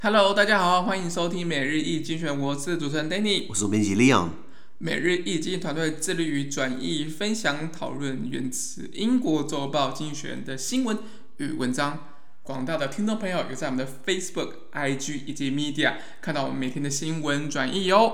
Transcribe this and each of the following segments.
Hello， 大家好，歡迎收聽每日一精選，我是主持人 Danny， 我是總編輯 Leon。 每日一精選團隊致力於轉譯、分享、討論源自英國週報精選的新聞與文章。廣大的聽眾朋友有在我們的 Facebook、IG 以及 Media 看到我們每天的新聞轉譯喲。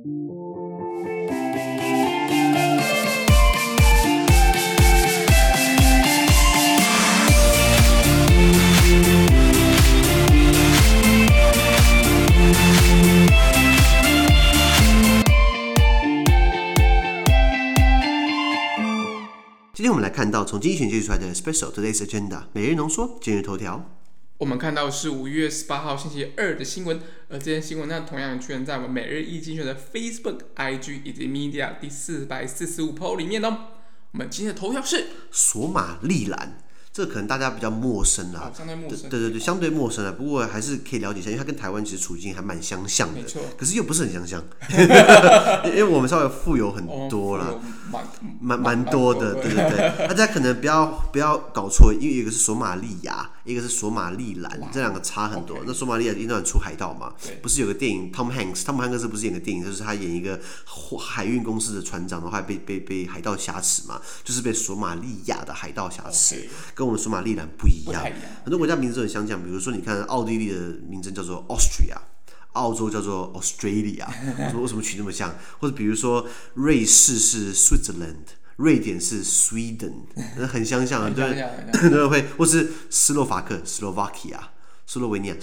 今天我們来看到從精選截取出來的 Special Today's Agenda 每日濃縮今日頭條。 我們看到是5月18號星期二的新聞，而這些新聞呢，同樣出現在我們每日一精選的 Facebook、IG 以及 Media 第445 po 裡面哦。我們今天的頭條是索馬利蘭。這可能大家比較陌生啦， 相对陌生， 对，相对陌生啦。不過還是可以了解一下，因為它跟台灣其實處境還蠻相像的， 沒錯。 可是又不是很相像，因為我們稍微富有很多啦，蠻多的，對。大家可能不要搞錯，因為一個是索馬利亞，一個是索馬利蘭，這兩個差很多。那索馬利亞一段出海盜嘛，不是有個電影 Tom Hanks 不是演個電影，就是他演一個海運公司的船長，然後還被海盜挾持嘛，就是被索馬利亞的海盜挾持。跟我們索馬利蘭不一樣，很多國家名字都很相像，比如說你看奧地利的名稱叫做 Austria， 澳洲叫做 Australia， 為什麼取那麼像？或者比如說瑞士是 Switzerland， 瑞典是 Sweden， 很相像，对会，或是斯洛伐克 Slovakia， 斯洛维尼亚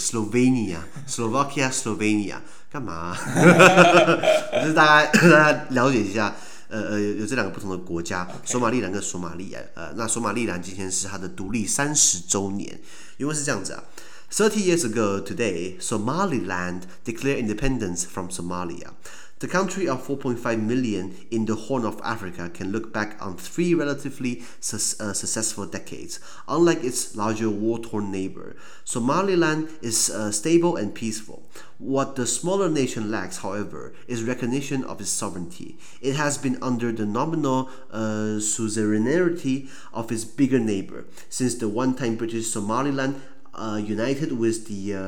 Slovenia， 幹嘛？就是大家了解一下。有這兩個不同的國家，索馬利蘭跟索馬利亞。那索馬利蘭今天是它的獨立30週年，因為是這樣子啊。30 years ago today, Somaliland declared independence from Somalia. The country of 4.5 million in the Horn of Africa can look back on 3 relatively successful decades. Unlike its larger war-torn neighbor, Somaliland is stable and peaceful. What the smaller nation lacks, however, is recognition of its sovereignty. It has been under the nominal suzerainty of its bigger neighbor since the one-time British Somaliland united with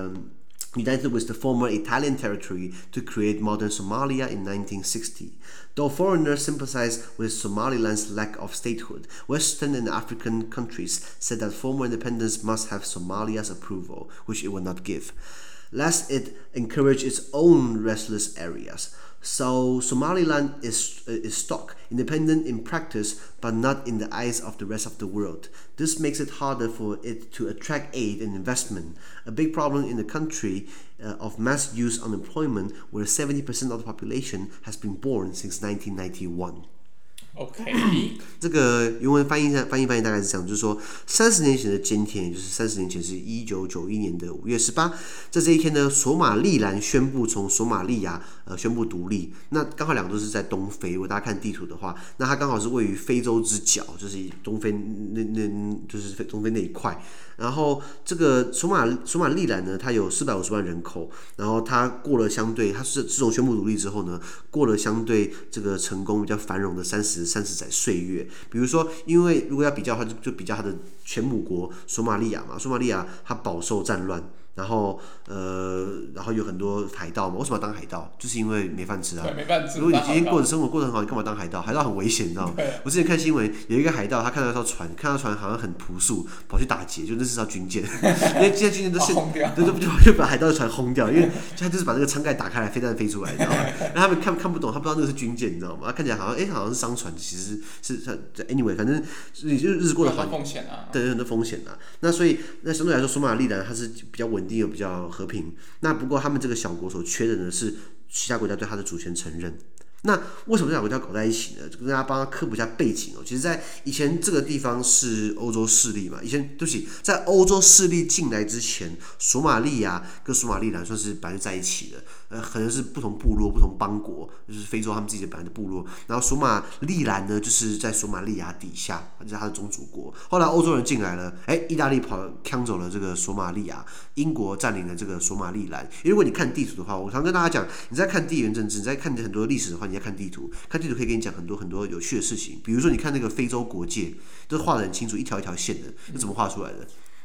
the former Italian territory to create modern Somalia in 1960. Though foreigners sympathize with Somaliland's lack of statehood, Western and African countries said that former independence must have Somalia's approval, which it will not give, lest it encourage its own restless areas. So Somaliland is stuck, independent in practice, but not in the eyes of the rest of the world. This makes it harder for it to attract aid and investment, a big problem in a country of mass youth unemployment where 70% of the population has been born since 1991. OK， 這個原文翻譯大概是這樣，就是說30年前的今天，也就是30年前是1991年的5月18，在這一天呢，索馬利蘭宣布從索馬利亞宣布獨立。那剛好兩個都是在東非，如果大家看地圖的話，那它剛好是位於非洲之角，就是東非就是東非那一塊。然後這個索馬利蘭呢，它有450萬人口，然後它過了相對，它是自從宣布獨立之後呢，過了相對這個成功比較繁榮的30載歲月。比如說，因為如果要比較的話，就比較它的前母國索馬利亞嘛，索馬利亞它飽受戰亂。然後有很多海盜嘛，為什麼要當海盜？就是因為沒飯吃啊。 沒飯吃。 如果你今天生活過得很好，你幹嘛當海盜？海盜很危險，你知道嗎？我之前看新聞，有一個海盜，他看到一艘船，看到船好像很樸素，跑去打劫，就那是艘軍艦，因為現在軍艦都是，就把海盜的船轟掉，因為他就是把那個艙蓋打開來，飛彈飛出來，你知道嗎？然後他們看不懂，他不知道那個是軍艦，你知道嗎？他看起來好像是商船，其實是 anyway， 反正你就日子過得好， 風險啊， 對，很多風險啊。那所以那相對來說，索馬利蘭它是比較穩定又比較和平。那不过他們這個小國所缺的呢，是其他國家對它的主權承認。那為什麼這兩個國家搞在一起呢？跟大家幫他科普一下背景哦。其實，在以前這個地方是歐洲勢力嘛，對不起，在歐洲勢力進來之前，索馬利亞跟索馬利蘭算是本來就在一起的。可能是不同部落、不同邦國，就是非洲他们自己的本来的部落。然後索馬利蘭呢，就是在索馬利亞底下，就是他的宗主國。後來歐洲人進來了，意大利搶走了這個索馬利亞，英國佔領了這個索馬利蘭。因為如果你看地圖的話，我常跟大家講，你在看地緣政治，你在看很多歷史的話，你在看地圖，看地圖可以跟你講很多很多有趣的事情。比如說，你看那個非洲國界，都畫得很清楚，一條一條線的，是怎麼畫出來的？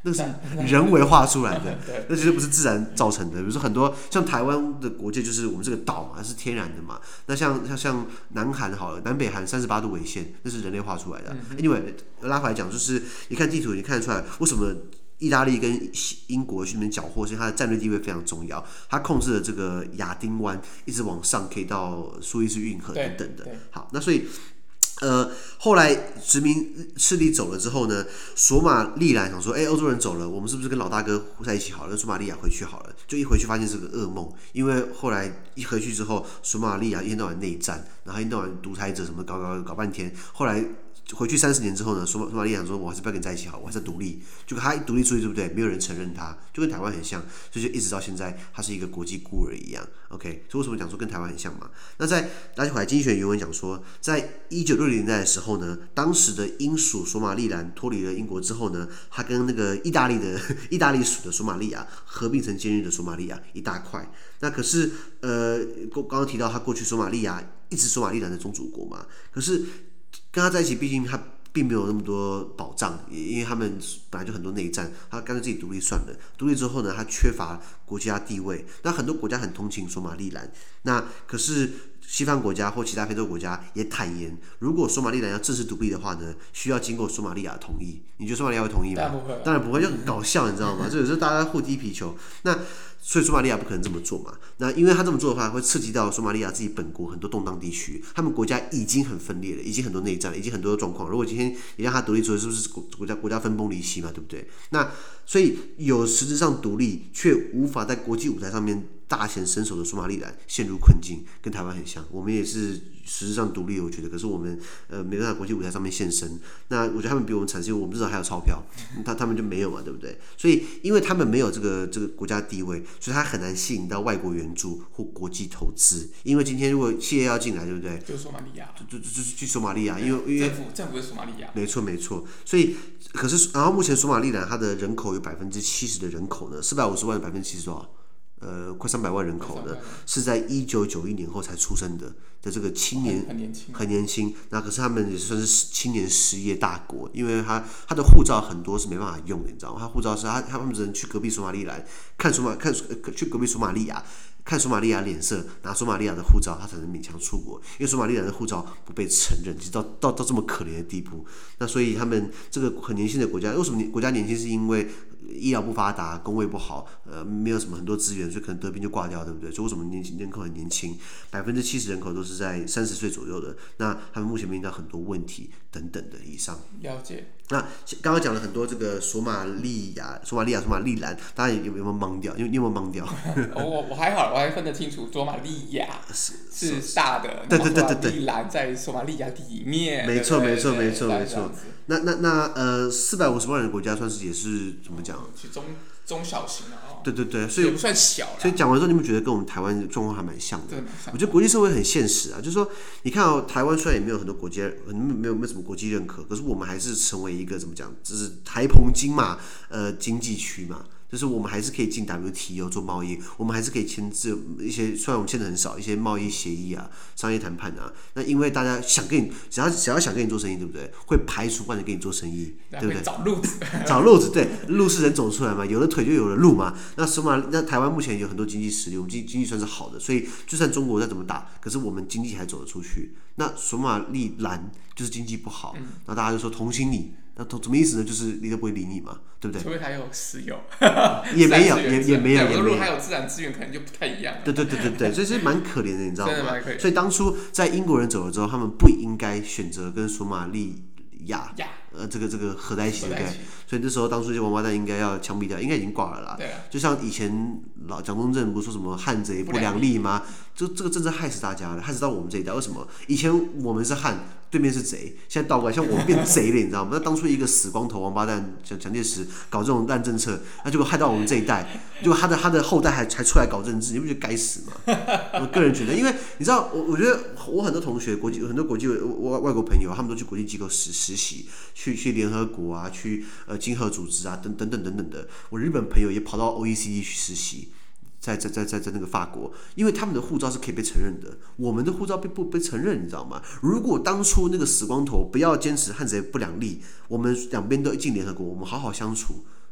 那是人為畫出來的，那絕對不是自然造成的。比如說很多像台灣的國界，就是我們這個島嘛，是天然的嘛。那像南韓好了，南北韓38度緯線，那是人類畫出來的。Anyway， 拉回來講，就是你看地圖，你看得出來為什麼意大利跟英國去那邊繳獲，所以它的戰略地位非常重要。它控制了這個亞丁灣，一直往上可以到蘇伊士運河等等的。好，那所以。後來殖民勢力走了之後呢，索馬利蘭想說，歐洲人走了，我們是不是跟老大哥在一起好了，跟索馬利亞回去好了？就一回去發現是個噩夢，因為後來一回去之後，索馬利亞一天到晚內戰，然後一天到晚獨裁者什麼搞半天，後來。回去30年之後呢，索馬利亞說：“我還是不要跟你在一起好，我還是要獨立。”結果他一獨立出去，对不對？沒有人承認他，就跟台灣很像，所以就一直到現在，他是一個國際孤兒一樣。OK， 所以為什麼講說跟台灣很像嘛？那在拉回來經濟學原文講說，在1960年代的時候呢，當時的英屬索馬利蘭脫離了英國之後呢，他跟那個意大利屬的索馬利亞合併成今日的索馬利亞一大塊。那可是剛剛提到他過去索馬利亞一直索馬利蘭的宗主國嘛，可是。跟他在一起，畢竟他並沒有那麼多保障，因為他們本来就很多內戰，他乾脆自己獨立算了。獨立之後呢，他缺乏國家地位，那很多國家很同情索馬利蘭，那可是西方國家或其他非洲國家也坦言，如果索馬利蘭要正式獨立的話呢，需要經過索馬利亞的同意。你覺得索馬利亞會同意嗎？當然不會，就很搞笑，你知道嗎？这是大家互踢皮球。那所以索馬利亞不可能這麼做嘛？那因為他這麼做的話，會刺激到索馬利亞自己本國很多動盪地區，他們國家已經很分裂了，已經很多內戰了，已經很多狀況。如果今天也讓他獨立出來，是不是國家分崩離析嘛？對不對？那所以有實質上獨立，卻無法在國際舞台上面大顯身手的索馬利蘭陷入困境，跟台灣很像。我們也是實質上獨立，我覺得，可是我們沒辦法國際舞台上面現身。那我覺得他們比我們慘，是因為我們至少還有鈔票，他們就沒有嘛，對不對？所以因為他們沒有這個國家地位，所以他很難吸引到外國援助或國際投資。因為今天如果企業要進來，對不對？ 就索馬利亞， 就是去索馬利亞，因為政府是索馬利亞， 沒錯。所以可是，然後目前索馬利蘭它的人口有70%的人口呢，450萬的70%多少？快300萬人口呢，是在1991年後才出生的這個青年，很年輕。那可是他們也算是青年失業大國，因為他的護照很多是沒辦法用的，你知道嗎？他護照是他們只能去隔壁索馬利蘭去隔壁索馬利亞。看索馬利亞臉色，拿索馬利亞的護照，他才能勉強出國。因為索馬利亞的護照不被承認，就到這麼可憐的地步。那所以他們這個很年輕的國家，為什麼國家年輕？是因為醫療不發達，工位不好，沒有什麼很多資源，所以可能得病就掛掉，對不對？所以為什麼人口很年輕？70%人口都是在30歲左右的。那他們目前面臨到很多問題等等的以上。 了解。那剛剛講了很多這個索馬利蘭，大家有沒有懵掉？你有沒有懵掉？ 我還好，我還分得清楚，索馬利亞是大的， 對， 索馬利蘭在索馬利亞裡面。 沒錯。那450萬人的國家算是也是怎麼講？ 中小型的哦。對， 所以也不算小啦。 所以講完之後，你們覺得跟我們台灣的狀況還蠻像的。我覺得國際社會很現實啊，就是說，你看台灣雖然也沒有很多國際，沒有什麼國際認可，可是我們還是成為一個怎麼講，就是台澎金馬經濟區嘛。就是我們還是可以進 WTO 做貿易，我們還是可以簽字一些，雖然我們簽的很少，一些貿易協議啊、商業談判啊。那因為大家想跟你，只要想跟你做生意，對不對？會排除萬人跟你做生意，對不对？找路子，对，路是人走出來嘛，有了腿就有了路嘛。那台灣目前有很多經濟實力，我们經濟算是好的，所以就算中國再怎麼打，可是我們經濟還走得出去。那索馬利蘭就是經濟不好，那大家就說同情你。那什麼意思呢？就是你都不會理你嘛，對不對？ 除非它有石油， 也沒有。 如果它有自然資源，可能就不太一樣了。 對，所以是蠻可憐的，你知道嗎？ 真的蠻可憐。 所以當初在英國人走了之後，他們不應該選擇跟索馬利亞這個合在一起，对不對？所以那時候當初這些王八蛋應該要槍斃掉，應該已經掛了啦。對啊。就像以前蔣中正不是說什麼漢賊不兩立嗎？這個政策害死大家了，害死到我們這一代。為什麼？以前我們是漢，對面是賊，現在倒過來，像我們變賊了，你知道嗎？那當初一個死光頭王八蛋蔣介石搞這種爛政策，那結果害到我們這一代，結果他的後代還出來搞政治，你不覺得該死嗎？我個人覺得，因為你知道，我覺得我很多同學很多國際外國朋友，他們都去國際機構實習，去聯合國啊，去經合組織啊，等等的。我日本朋友也跑到 OECD 去實習。在那個法國，因為他們的護照是可以被承認的，我們的護照不被承認，你知道嗎？如果當初那個死光頭不要堅持漢賊不兩立，我們兩邊都進聯合國，我們好好相處，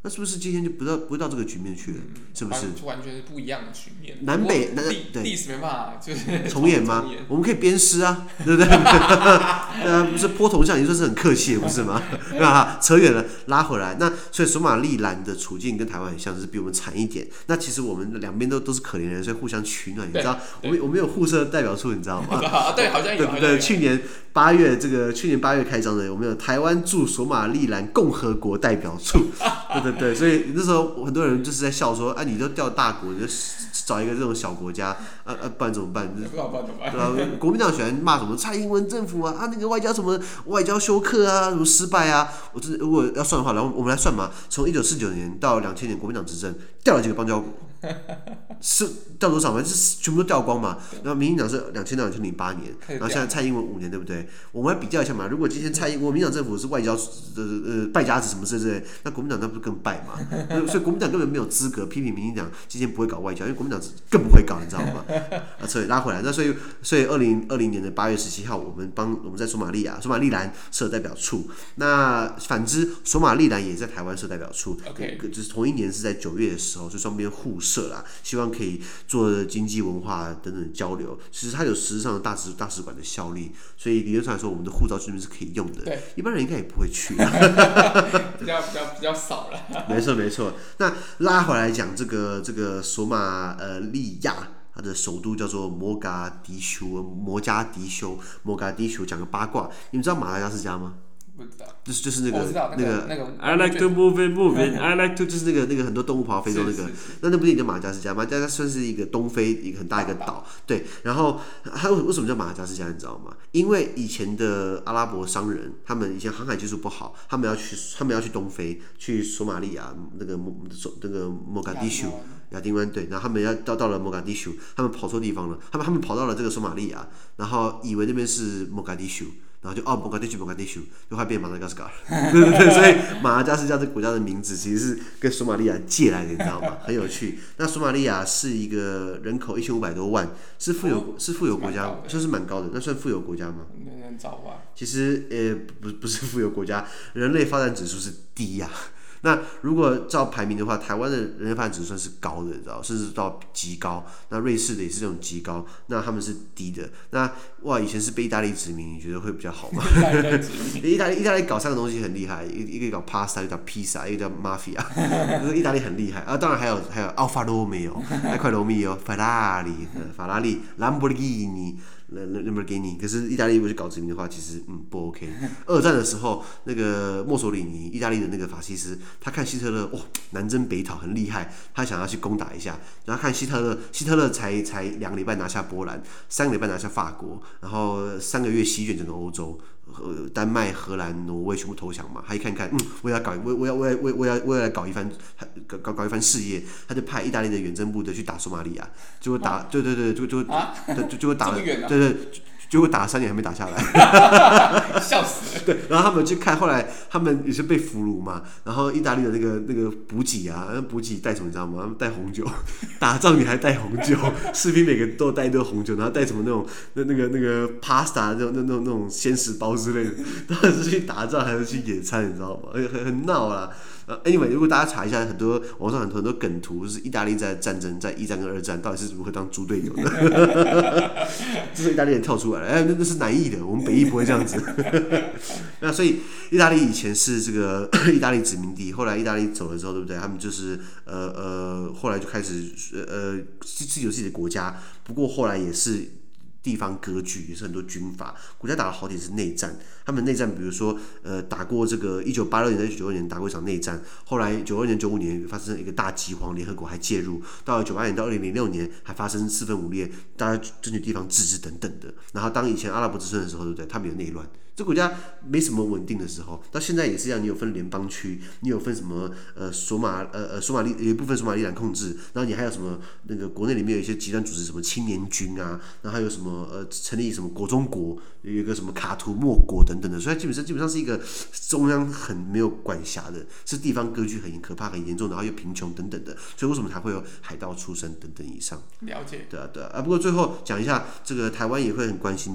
那是不是今天就不會到這個局面去了？是不是？ 完全是不一樣的局面。 南北歷史沒辦法就是重演嗎？我們可以鞭屍啊，對不對？不是潑銅像，你說是很客氣，不是嗎？對吧？扯遠了，拉回來。那所以索馬利蘭的處境跟台灣很像，是比我們慘一點。那其實我們两邊都是可憐人，所以互相取暖。你知道，我們有互設代表處，你知道嗎？ 对，好像有。 对不对？去年8月開張的，我們有台灣駐索馬利蘭共和國代表處。對，所以那時候很多人就是在笑說，你都調大國，你就找一個這種小國家，不然怎麼辦？對吧？國民黨喜歡罵什麼蔡英文政府啊，那個外交休克啊，什麼失敗啊。如果要算的話，然後我們來算嘛，從1949年到2000年，國民黨執政調了幾個邦交國？是掉多少嘛？是全部都掉光嘛？然後民進黨是2000到2008年，然後现在蔡英文5年，对不对？我們來比較一下嘛。如果今天国民黨政府是外交敗家子什麼之類，那國民黨那不是更敗嘛？所以國民黨根本沒有資格批評民進黨今天不會搞外交，因為國民黨更不會搞，你知道嗎？所以拉回來，那所以2020年的8月17號，我們在索馬利蘭設代表處。那反之，索馬利蘭也在台灣設代表處，就是同一年是在9月的時候，所以雙邊互設啦，希望可以做經濟、文化等等的交流。其實它有實質上的大使館的效力，所以理論上來說，我們的護照這邊是可以用的。對，一般人應該也不會去。 比較少了。 沒錯。那拉回來講這個索馬利亞，它的首都叫做摩加迪修。講個八卦，你們知道馬達加斯加嗎？ 不知道， 就是那個 I like to move it I like to 就是那個很多動物跑到非洲那個，那不是叫馬達加斯加，馬達加斯加算是一個東非一個很大一個島，對。然後它為什麼叫馬達加斯加，你知道嗎？因為以前的阿拉伯商人，他們以前航海技術不好，他們要去東非，去索馬利亞那個莫加迪修。亞丁灣，对，然後他們要到了莫加迪修，他們跑錯地方了，他們跑到了這個索馬利亞，然後以為那邊是莫加迪修，然後就莫加迪修，就快變馬達加斯加了。對，所以馬達加斯加這個國家的名字其實是跟索馬利亞借來的，你知道嗎？很有趣。那索馬利亞是一個人口1500多萬，是富有國家，算是蠻高的。那算富有國家嗎？ 很早吧。其實不是富有國家，人類發展指數是低呀。那如果照排名的話，台灣的人類發展指數算是高的，你知道，甚至到極高。那瑞士的也是這種極高，那他們是低的。那以前是被意大利殖民，你覺得會比較好嗎？意大利搞3個東西很厲害，一個搞 pasta， 一個叫披薩，一個叫 mafia， 就是意大利很厲害啊。當然還有 Alfa Romeo， 愛快羅密歐，法拉利，蘭博基尼。可是意大利如果去搞殖民的話，其實不 OK。2戰的時候，那個墨索里尼，意大利的那個法西斯，他看希特勒南征北討很厲害，他想要去攻打一下。然後看希特勒才2個禮拜拿下波蘭，3個禮拜拿下法國，然後3個月席捲整個歐洲。丹麥、荷蘭、挪威全部投降嘛，他一看，我要來搞一番事業，他就派意大利的遠征部隊去打索馬利亞，結果打，對，結果打了，對。結果打了3年還沒打下來， 笑死了。 對，然後他們去看，後來他們也是被俘虜嘛，然後意大利的那個補給啊，那補給帶什麼你知道嗎？他們帶紅酒，打仗你還帶紅酒，士兵每個都帶一堆紅酒，然後帶什麼那個 pasta 那種鮮食包之類的，到底是去打仗還是去野餐，你知道嗎？很鬧啦。Anyway， 如果大家查一下，網上很多梗圖，就是意大利在戰爭，在1戰跟2戰到底是如何當豬隊友的，這是意大利人跳出來了，那是南意的，我們北意不會這樣子。那所以意大利以前是這個意大利殖民地，後來意大利走了之後，對不對？他們就是後來就開始自己有自己的國家，不過後來也是地方割據，也是很多軍閥，國家打了好幾次內戰。他們內戰，比如說打過這個1986年到1992年打過一場內戰，後來92年、95年發生一個大饑荒，聯合國還介入，到了98年到2006年還發生4分5裂，大家爭取地方自治等等的。然後當以前阿拉伯之春的時候，對不對？他們有內亂。這國家沒什麼穩定的時候，到現在也是一樣，你有分聯邦區，你有分什麼索馬利有一部分索馬利蘭控制，然後你還有什麼那個國內裡面有一些極端組織，什麼青年軍啊，然後還有什麼成立什麼國中國，有一個什麼卡圖莫國等等的，所以它基本上是一個中央很沒有管轄的，是地方割據很可怕、很嚴重，然後又貧窮等等的，所以為什麼才會有海盜出身等等以上？ 了解。 對啊。不過最後講一下，這個台灣也會很關心的。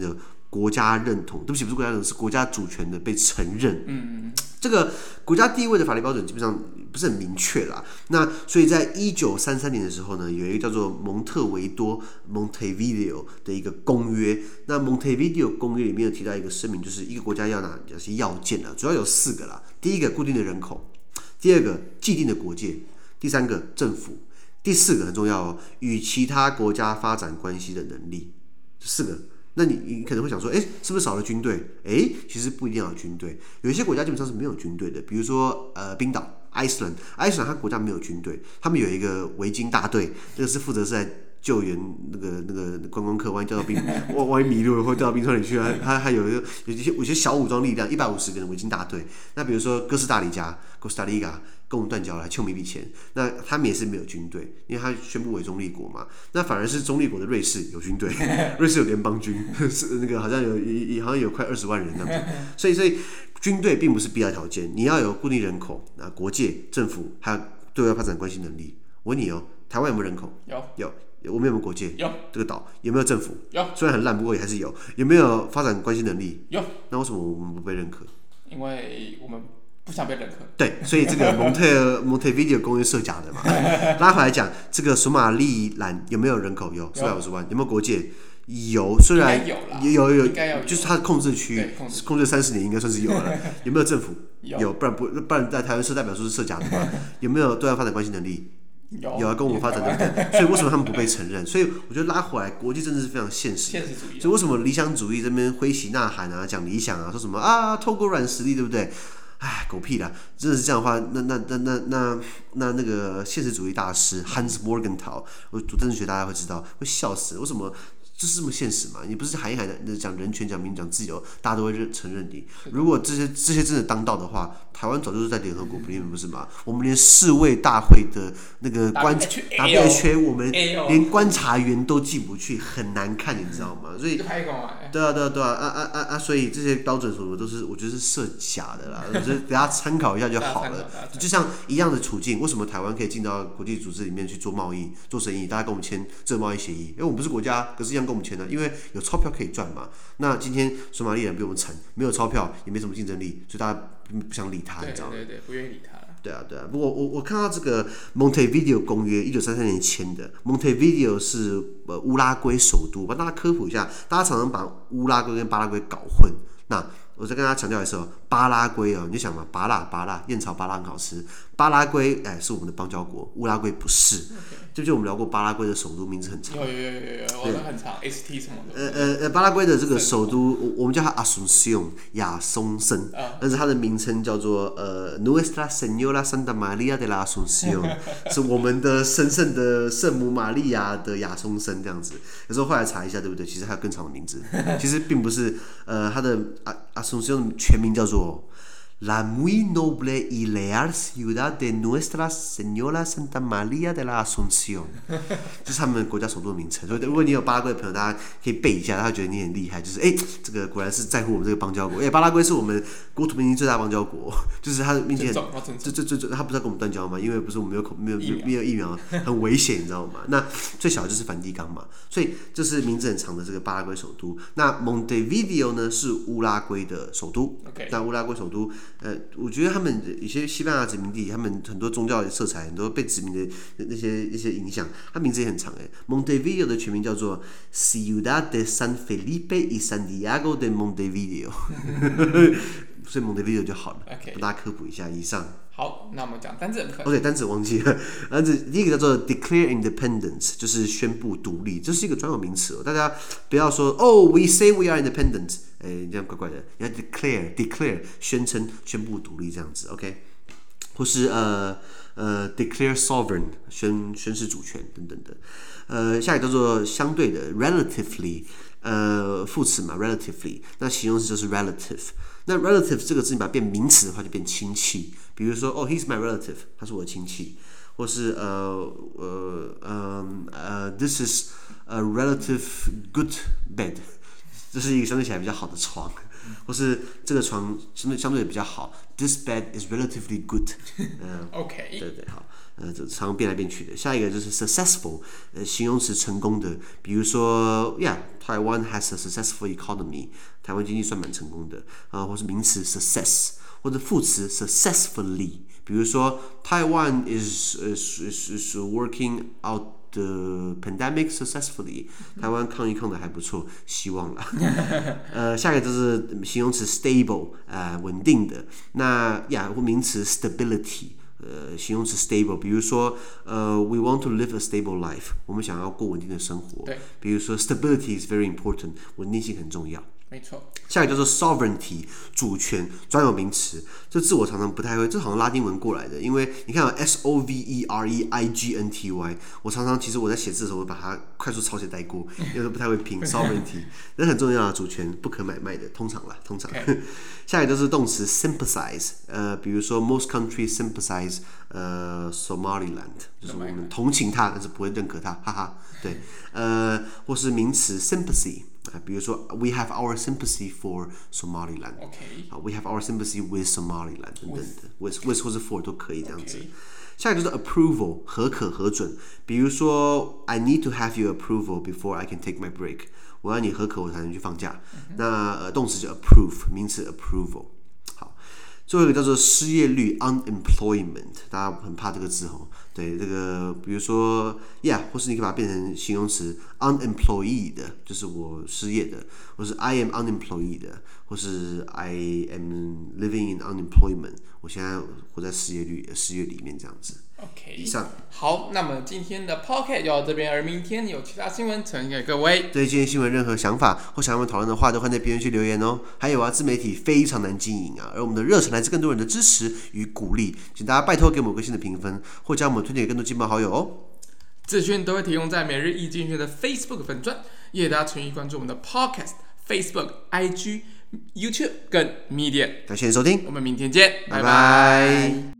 國家認同，對不起，不是國家認同，是國家主權的被承認。這個國家地位的法律標準基本上不是很明確啦。那所以在1933年的時候呢，有一個叫做蒙特維多 （Montevideo） 的一個公約。那 Montevideo 公約裡面有提到一個聲明，就是一個國家要哪些要件啊？主要有4個啦。第一個，固定的人口；第二個，既定的國界；第三個，政府；第4個很重要哦，與其他國家發展關係的能力。4個。那你可能會想說，是不是少了軍隊？其實不一定要有軍隊，有一些國家基本上是沒有軍隊的，比如說冰島 Iceland 它國家沒有軍隊，他們有一個維京大隊，那個是負責是在救援那個觀光客，萬一掉到萬一迷路了或掉到冰川裡去啊，他還有一些小武装力量，150個人維京大隊。那比如說哥斯達黎加 Costa Rica 跟我們斷交了，还欠我们一筆錢。那他們也是沒有軍隊，因為他宣布為中立國嘛。那反而是中立國的瑞士有軍隊，瑞士有聯邦軍，是那個好像有快20萬人這樣子。所以軍隊並不是必要條件，你要有固定人口、國界、政府，還有對外發展關係能力。我問你哦，台灣有沒有人口？有。我們有沒有國界？ 有。這個島有沒有政府？ 有。雖然很爛，不過也還是有。有沒有發展關係能力？ 有。 那為什麼我們不被認可？ 因為我們不想被認可。對， 所以這個Montevideo 公約設假的嘛。拉回來講，這個索馬利蘭有沒有人口？有，450萬。有沒有國界？有，雖然有，就是它的控制區，控制30年應該算是有了。有沒有政府？有，不然在台灣設代表處是設假的嘛？有沒有對外發展關係能力？有啊，跟我們發展對不對？所以為什麼他們不被承認？所以我覺得拉回來，國際政治是非常現實的。所以為什麼理想主義這邊揮旗吶喊啊，講理想啊，說什麼啊，透過軟實力，對不對？哎，狗屁啦！真的是這樣的話，那個現實主義大師 Hans Morgenthau， 我讀政治學大家會知道，會笑死。為什麼？就是這麼現實嘛？你不是喊一喊的講人權、講民主、講自由，大家都會承認你。如果這些真的當道的話，台灣早就是在聯合國裡面，不是嗎？我們連世衛大會的那個WHO， 我們連觀察員都進不去，很難看，你知道嗎？所以對啊，所以這些標準什麼都是，我覺得是設假的啦。我覺得給大家參考一下就好了。就像一樣的處境，為什麼台灣可以進到國際組織裡面去做貿易、做生意？大家跟我們簽這個貿易協議，因為我們不是國家，可是一樣跟我們簽的，因為有鈔票可以賺嘛。那今天索馬利蘭比我們慘，沒有鈔票，也沒什麼競爭力，所以大家不想理他，你知道嗎？ 對，不願意理他。 对啊。不過我看到這個 Montevideo 公約1933年簽的 ，Montevideo 是烏拉圭首都，幫大家科普一下，大家常常把烏拉圭跟巴拉圭搞混。那我再跟大家強調一次哦，巴拉圭哦，你就想嘛，芭樂，燕巢芭樂很好吃。巴拉圭是我們的邦交國，烏拉圭不是。就我們聊過巴拉圭的首都名字很長，有， 我都很長 ，ST 什麼的。 巴拉圭的這個首都，我們叫它 Asunción 亞松森，但是它的名稱叫做Nuestra Señora Santa María de la Asunción， 是我們的神聖的聖母瑪利亞的亞松森這樣子。有時候後來查一下，對不對？其實還有更長的名字，其實並不是它的Asunción 全名叫做La muy noble y leal ciudad de Nuestra Señora Santa María de la Asunción， 这是他們國家首都的名稱。所以如果你有巴拉圭的朋友，大家可以背一下，他會覺得你很厲害。就是這個果然是在乎我們這個邦交國。巴拉圭是我們國土面積最大的邦交國，就是它的面積很，它不是要跟我們斷交嗎？因為不是我們沒有疫苗，很危險，你知道嗎？那最小的就是梵蒂岡嘛，所以這是名字很長的這個巴拉圭首都。那 Montevideo 呢是烏拉圭的首都。那烏拉圭首都。我覺得他們一些西班牙殖民地，他們很多宗教的色彩，很多被殖民的那些影響，它名字也很長Montevideo 的全名叫做 Ciudad de San Felipe y Santiago de Montevideo， 所以 Montevideo 就好了。跟大家科普一下。以上。 好，那我們講單字的部分。 OK， 單字忘記了。單字第一個叫做 declare independence， 就是宣布獨立，這是一個專有名詞。大家不要說we say we are independent， 這樣怪怪的。你要 declare 宣布獨立這樣子 ，OK， 或是declare sovereign 宣示主權等等的。下一個叫做相對的 relatively， 副詞嘛 relatively， 那形容詞就是 relative。那 relative 這個字你把它變名詞的話就變親戚，比如說he's my relative， 他是我的親戚，或是this is a relative good bed， 這是一個相對起來比較好的床，或是這個床相對比較好 ，this bed is relatively good， OK， 對，好。 這常變來變去的。下一個就是 successful， 形容詞成功的，比如說 Taiwan has a successful economy， 台灣經濟算蠻成功的或是名詞 success， 或者副詞 successfully， 比如說 Taiwan is working out。The pandemic successfully， 台灣抗疫抗得還不錯，希望啦。下一個就是形容詞 stable， 穩定的。那或名詞 stability， 形容詞 stable， 比如說we want to live a stable life， 我們想要過穩定的生活。比如說 stability is very important， 穩定性很重要。 没错。 下一個叫做 sovereignty， 主權，专有名詞。這字我常常不太会，這好像拉丁文過來的，因為你看SOVEREIGNTY， 我常常其實我在寫字的時候，我把它快速抄寫帶過，因為不太会拼 sovereignty， 那很重要的主權，不可买賣的，通常。Okay. 下一個就是動詞 sympathize， 比如說 most countries sympathize Somaliland， 就是我們同情他，但是不會認可他，哈哈。對，或是名詞 sympathy。比如說 we have our sympathy for Somaliland，we have our sympathy with Somaliland 等等的 with 或是 for 都可以這樣子。下一個就是 approval， 核可核准，比如說 I need to have your approval before I can take my break， 我要你核可我才能去放假。那动詞就 approve， 名詞 approval。好，最後一個叫做失業率 unemployment， 大家很怕這個字吼。对，这個比如說 或是你可以把它變成形容詞 unemployed， 就是我失業的，或是 I am unemployed， 或是 I am living in unemployment， 我現在活在失業裡面這樣子。 OK， 以上。 好，那麼今天的 Podcast 就到這邊，而明天有其他新聞呈現給各位。 對今天新聞任何想法或想要我們討論的話，都歡迎在評論區留言哦。還有自媒體非常難經營而我們的熱忱來自更多人的支持與鼓勵，請大家拜託給我們個新的評分，或將我們推薦給更多親朋好友哦。 資訊都會提供在每日一經濟學的 Facebook 粉專，也大家持續關注我們的 Podcast、Facebook、IG、YouTube 跟 Medium。 感謝你收聽， 我們明天見，拜拜。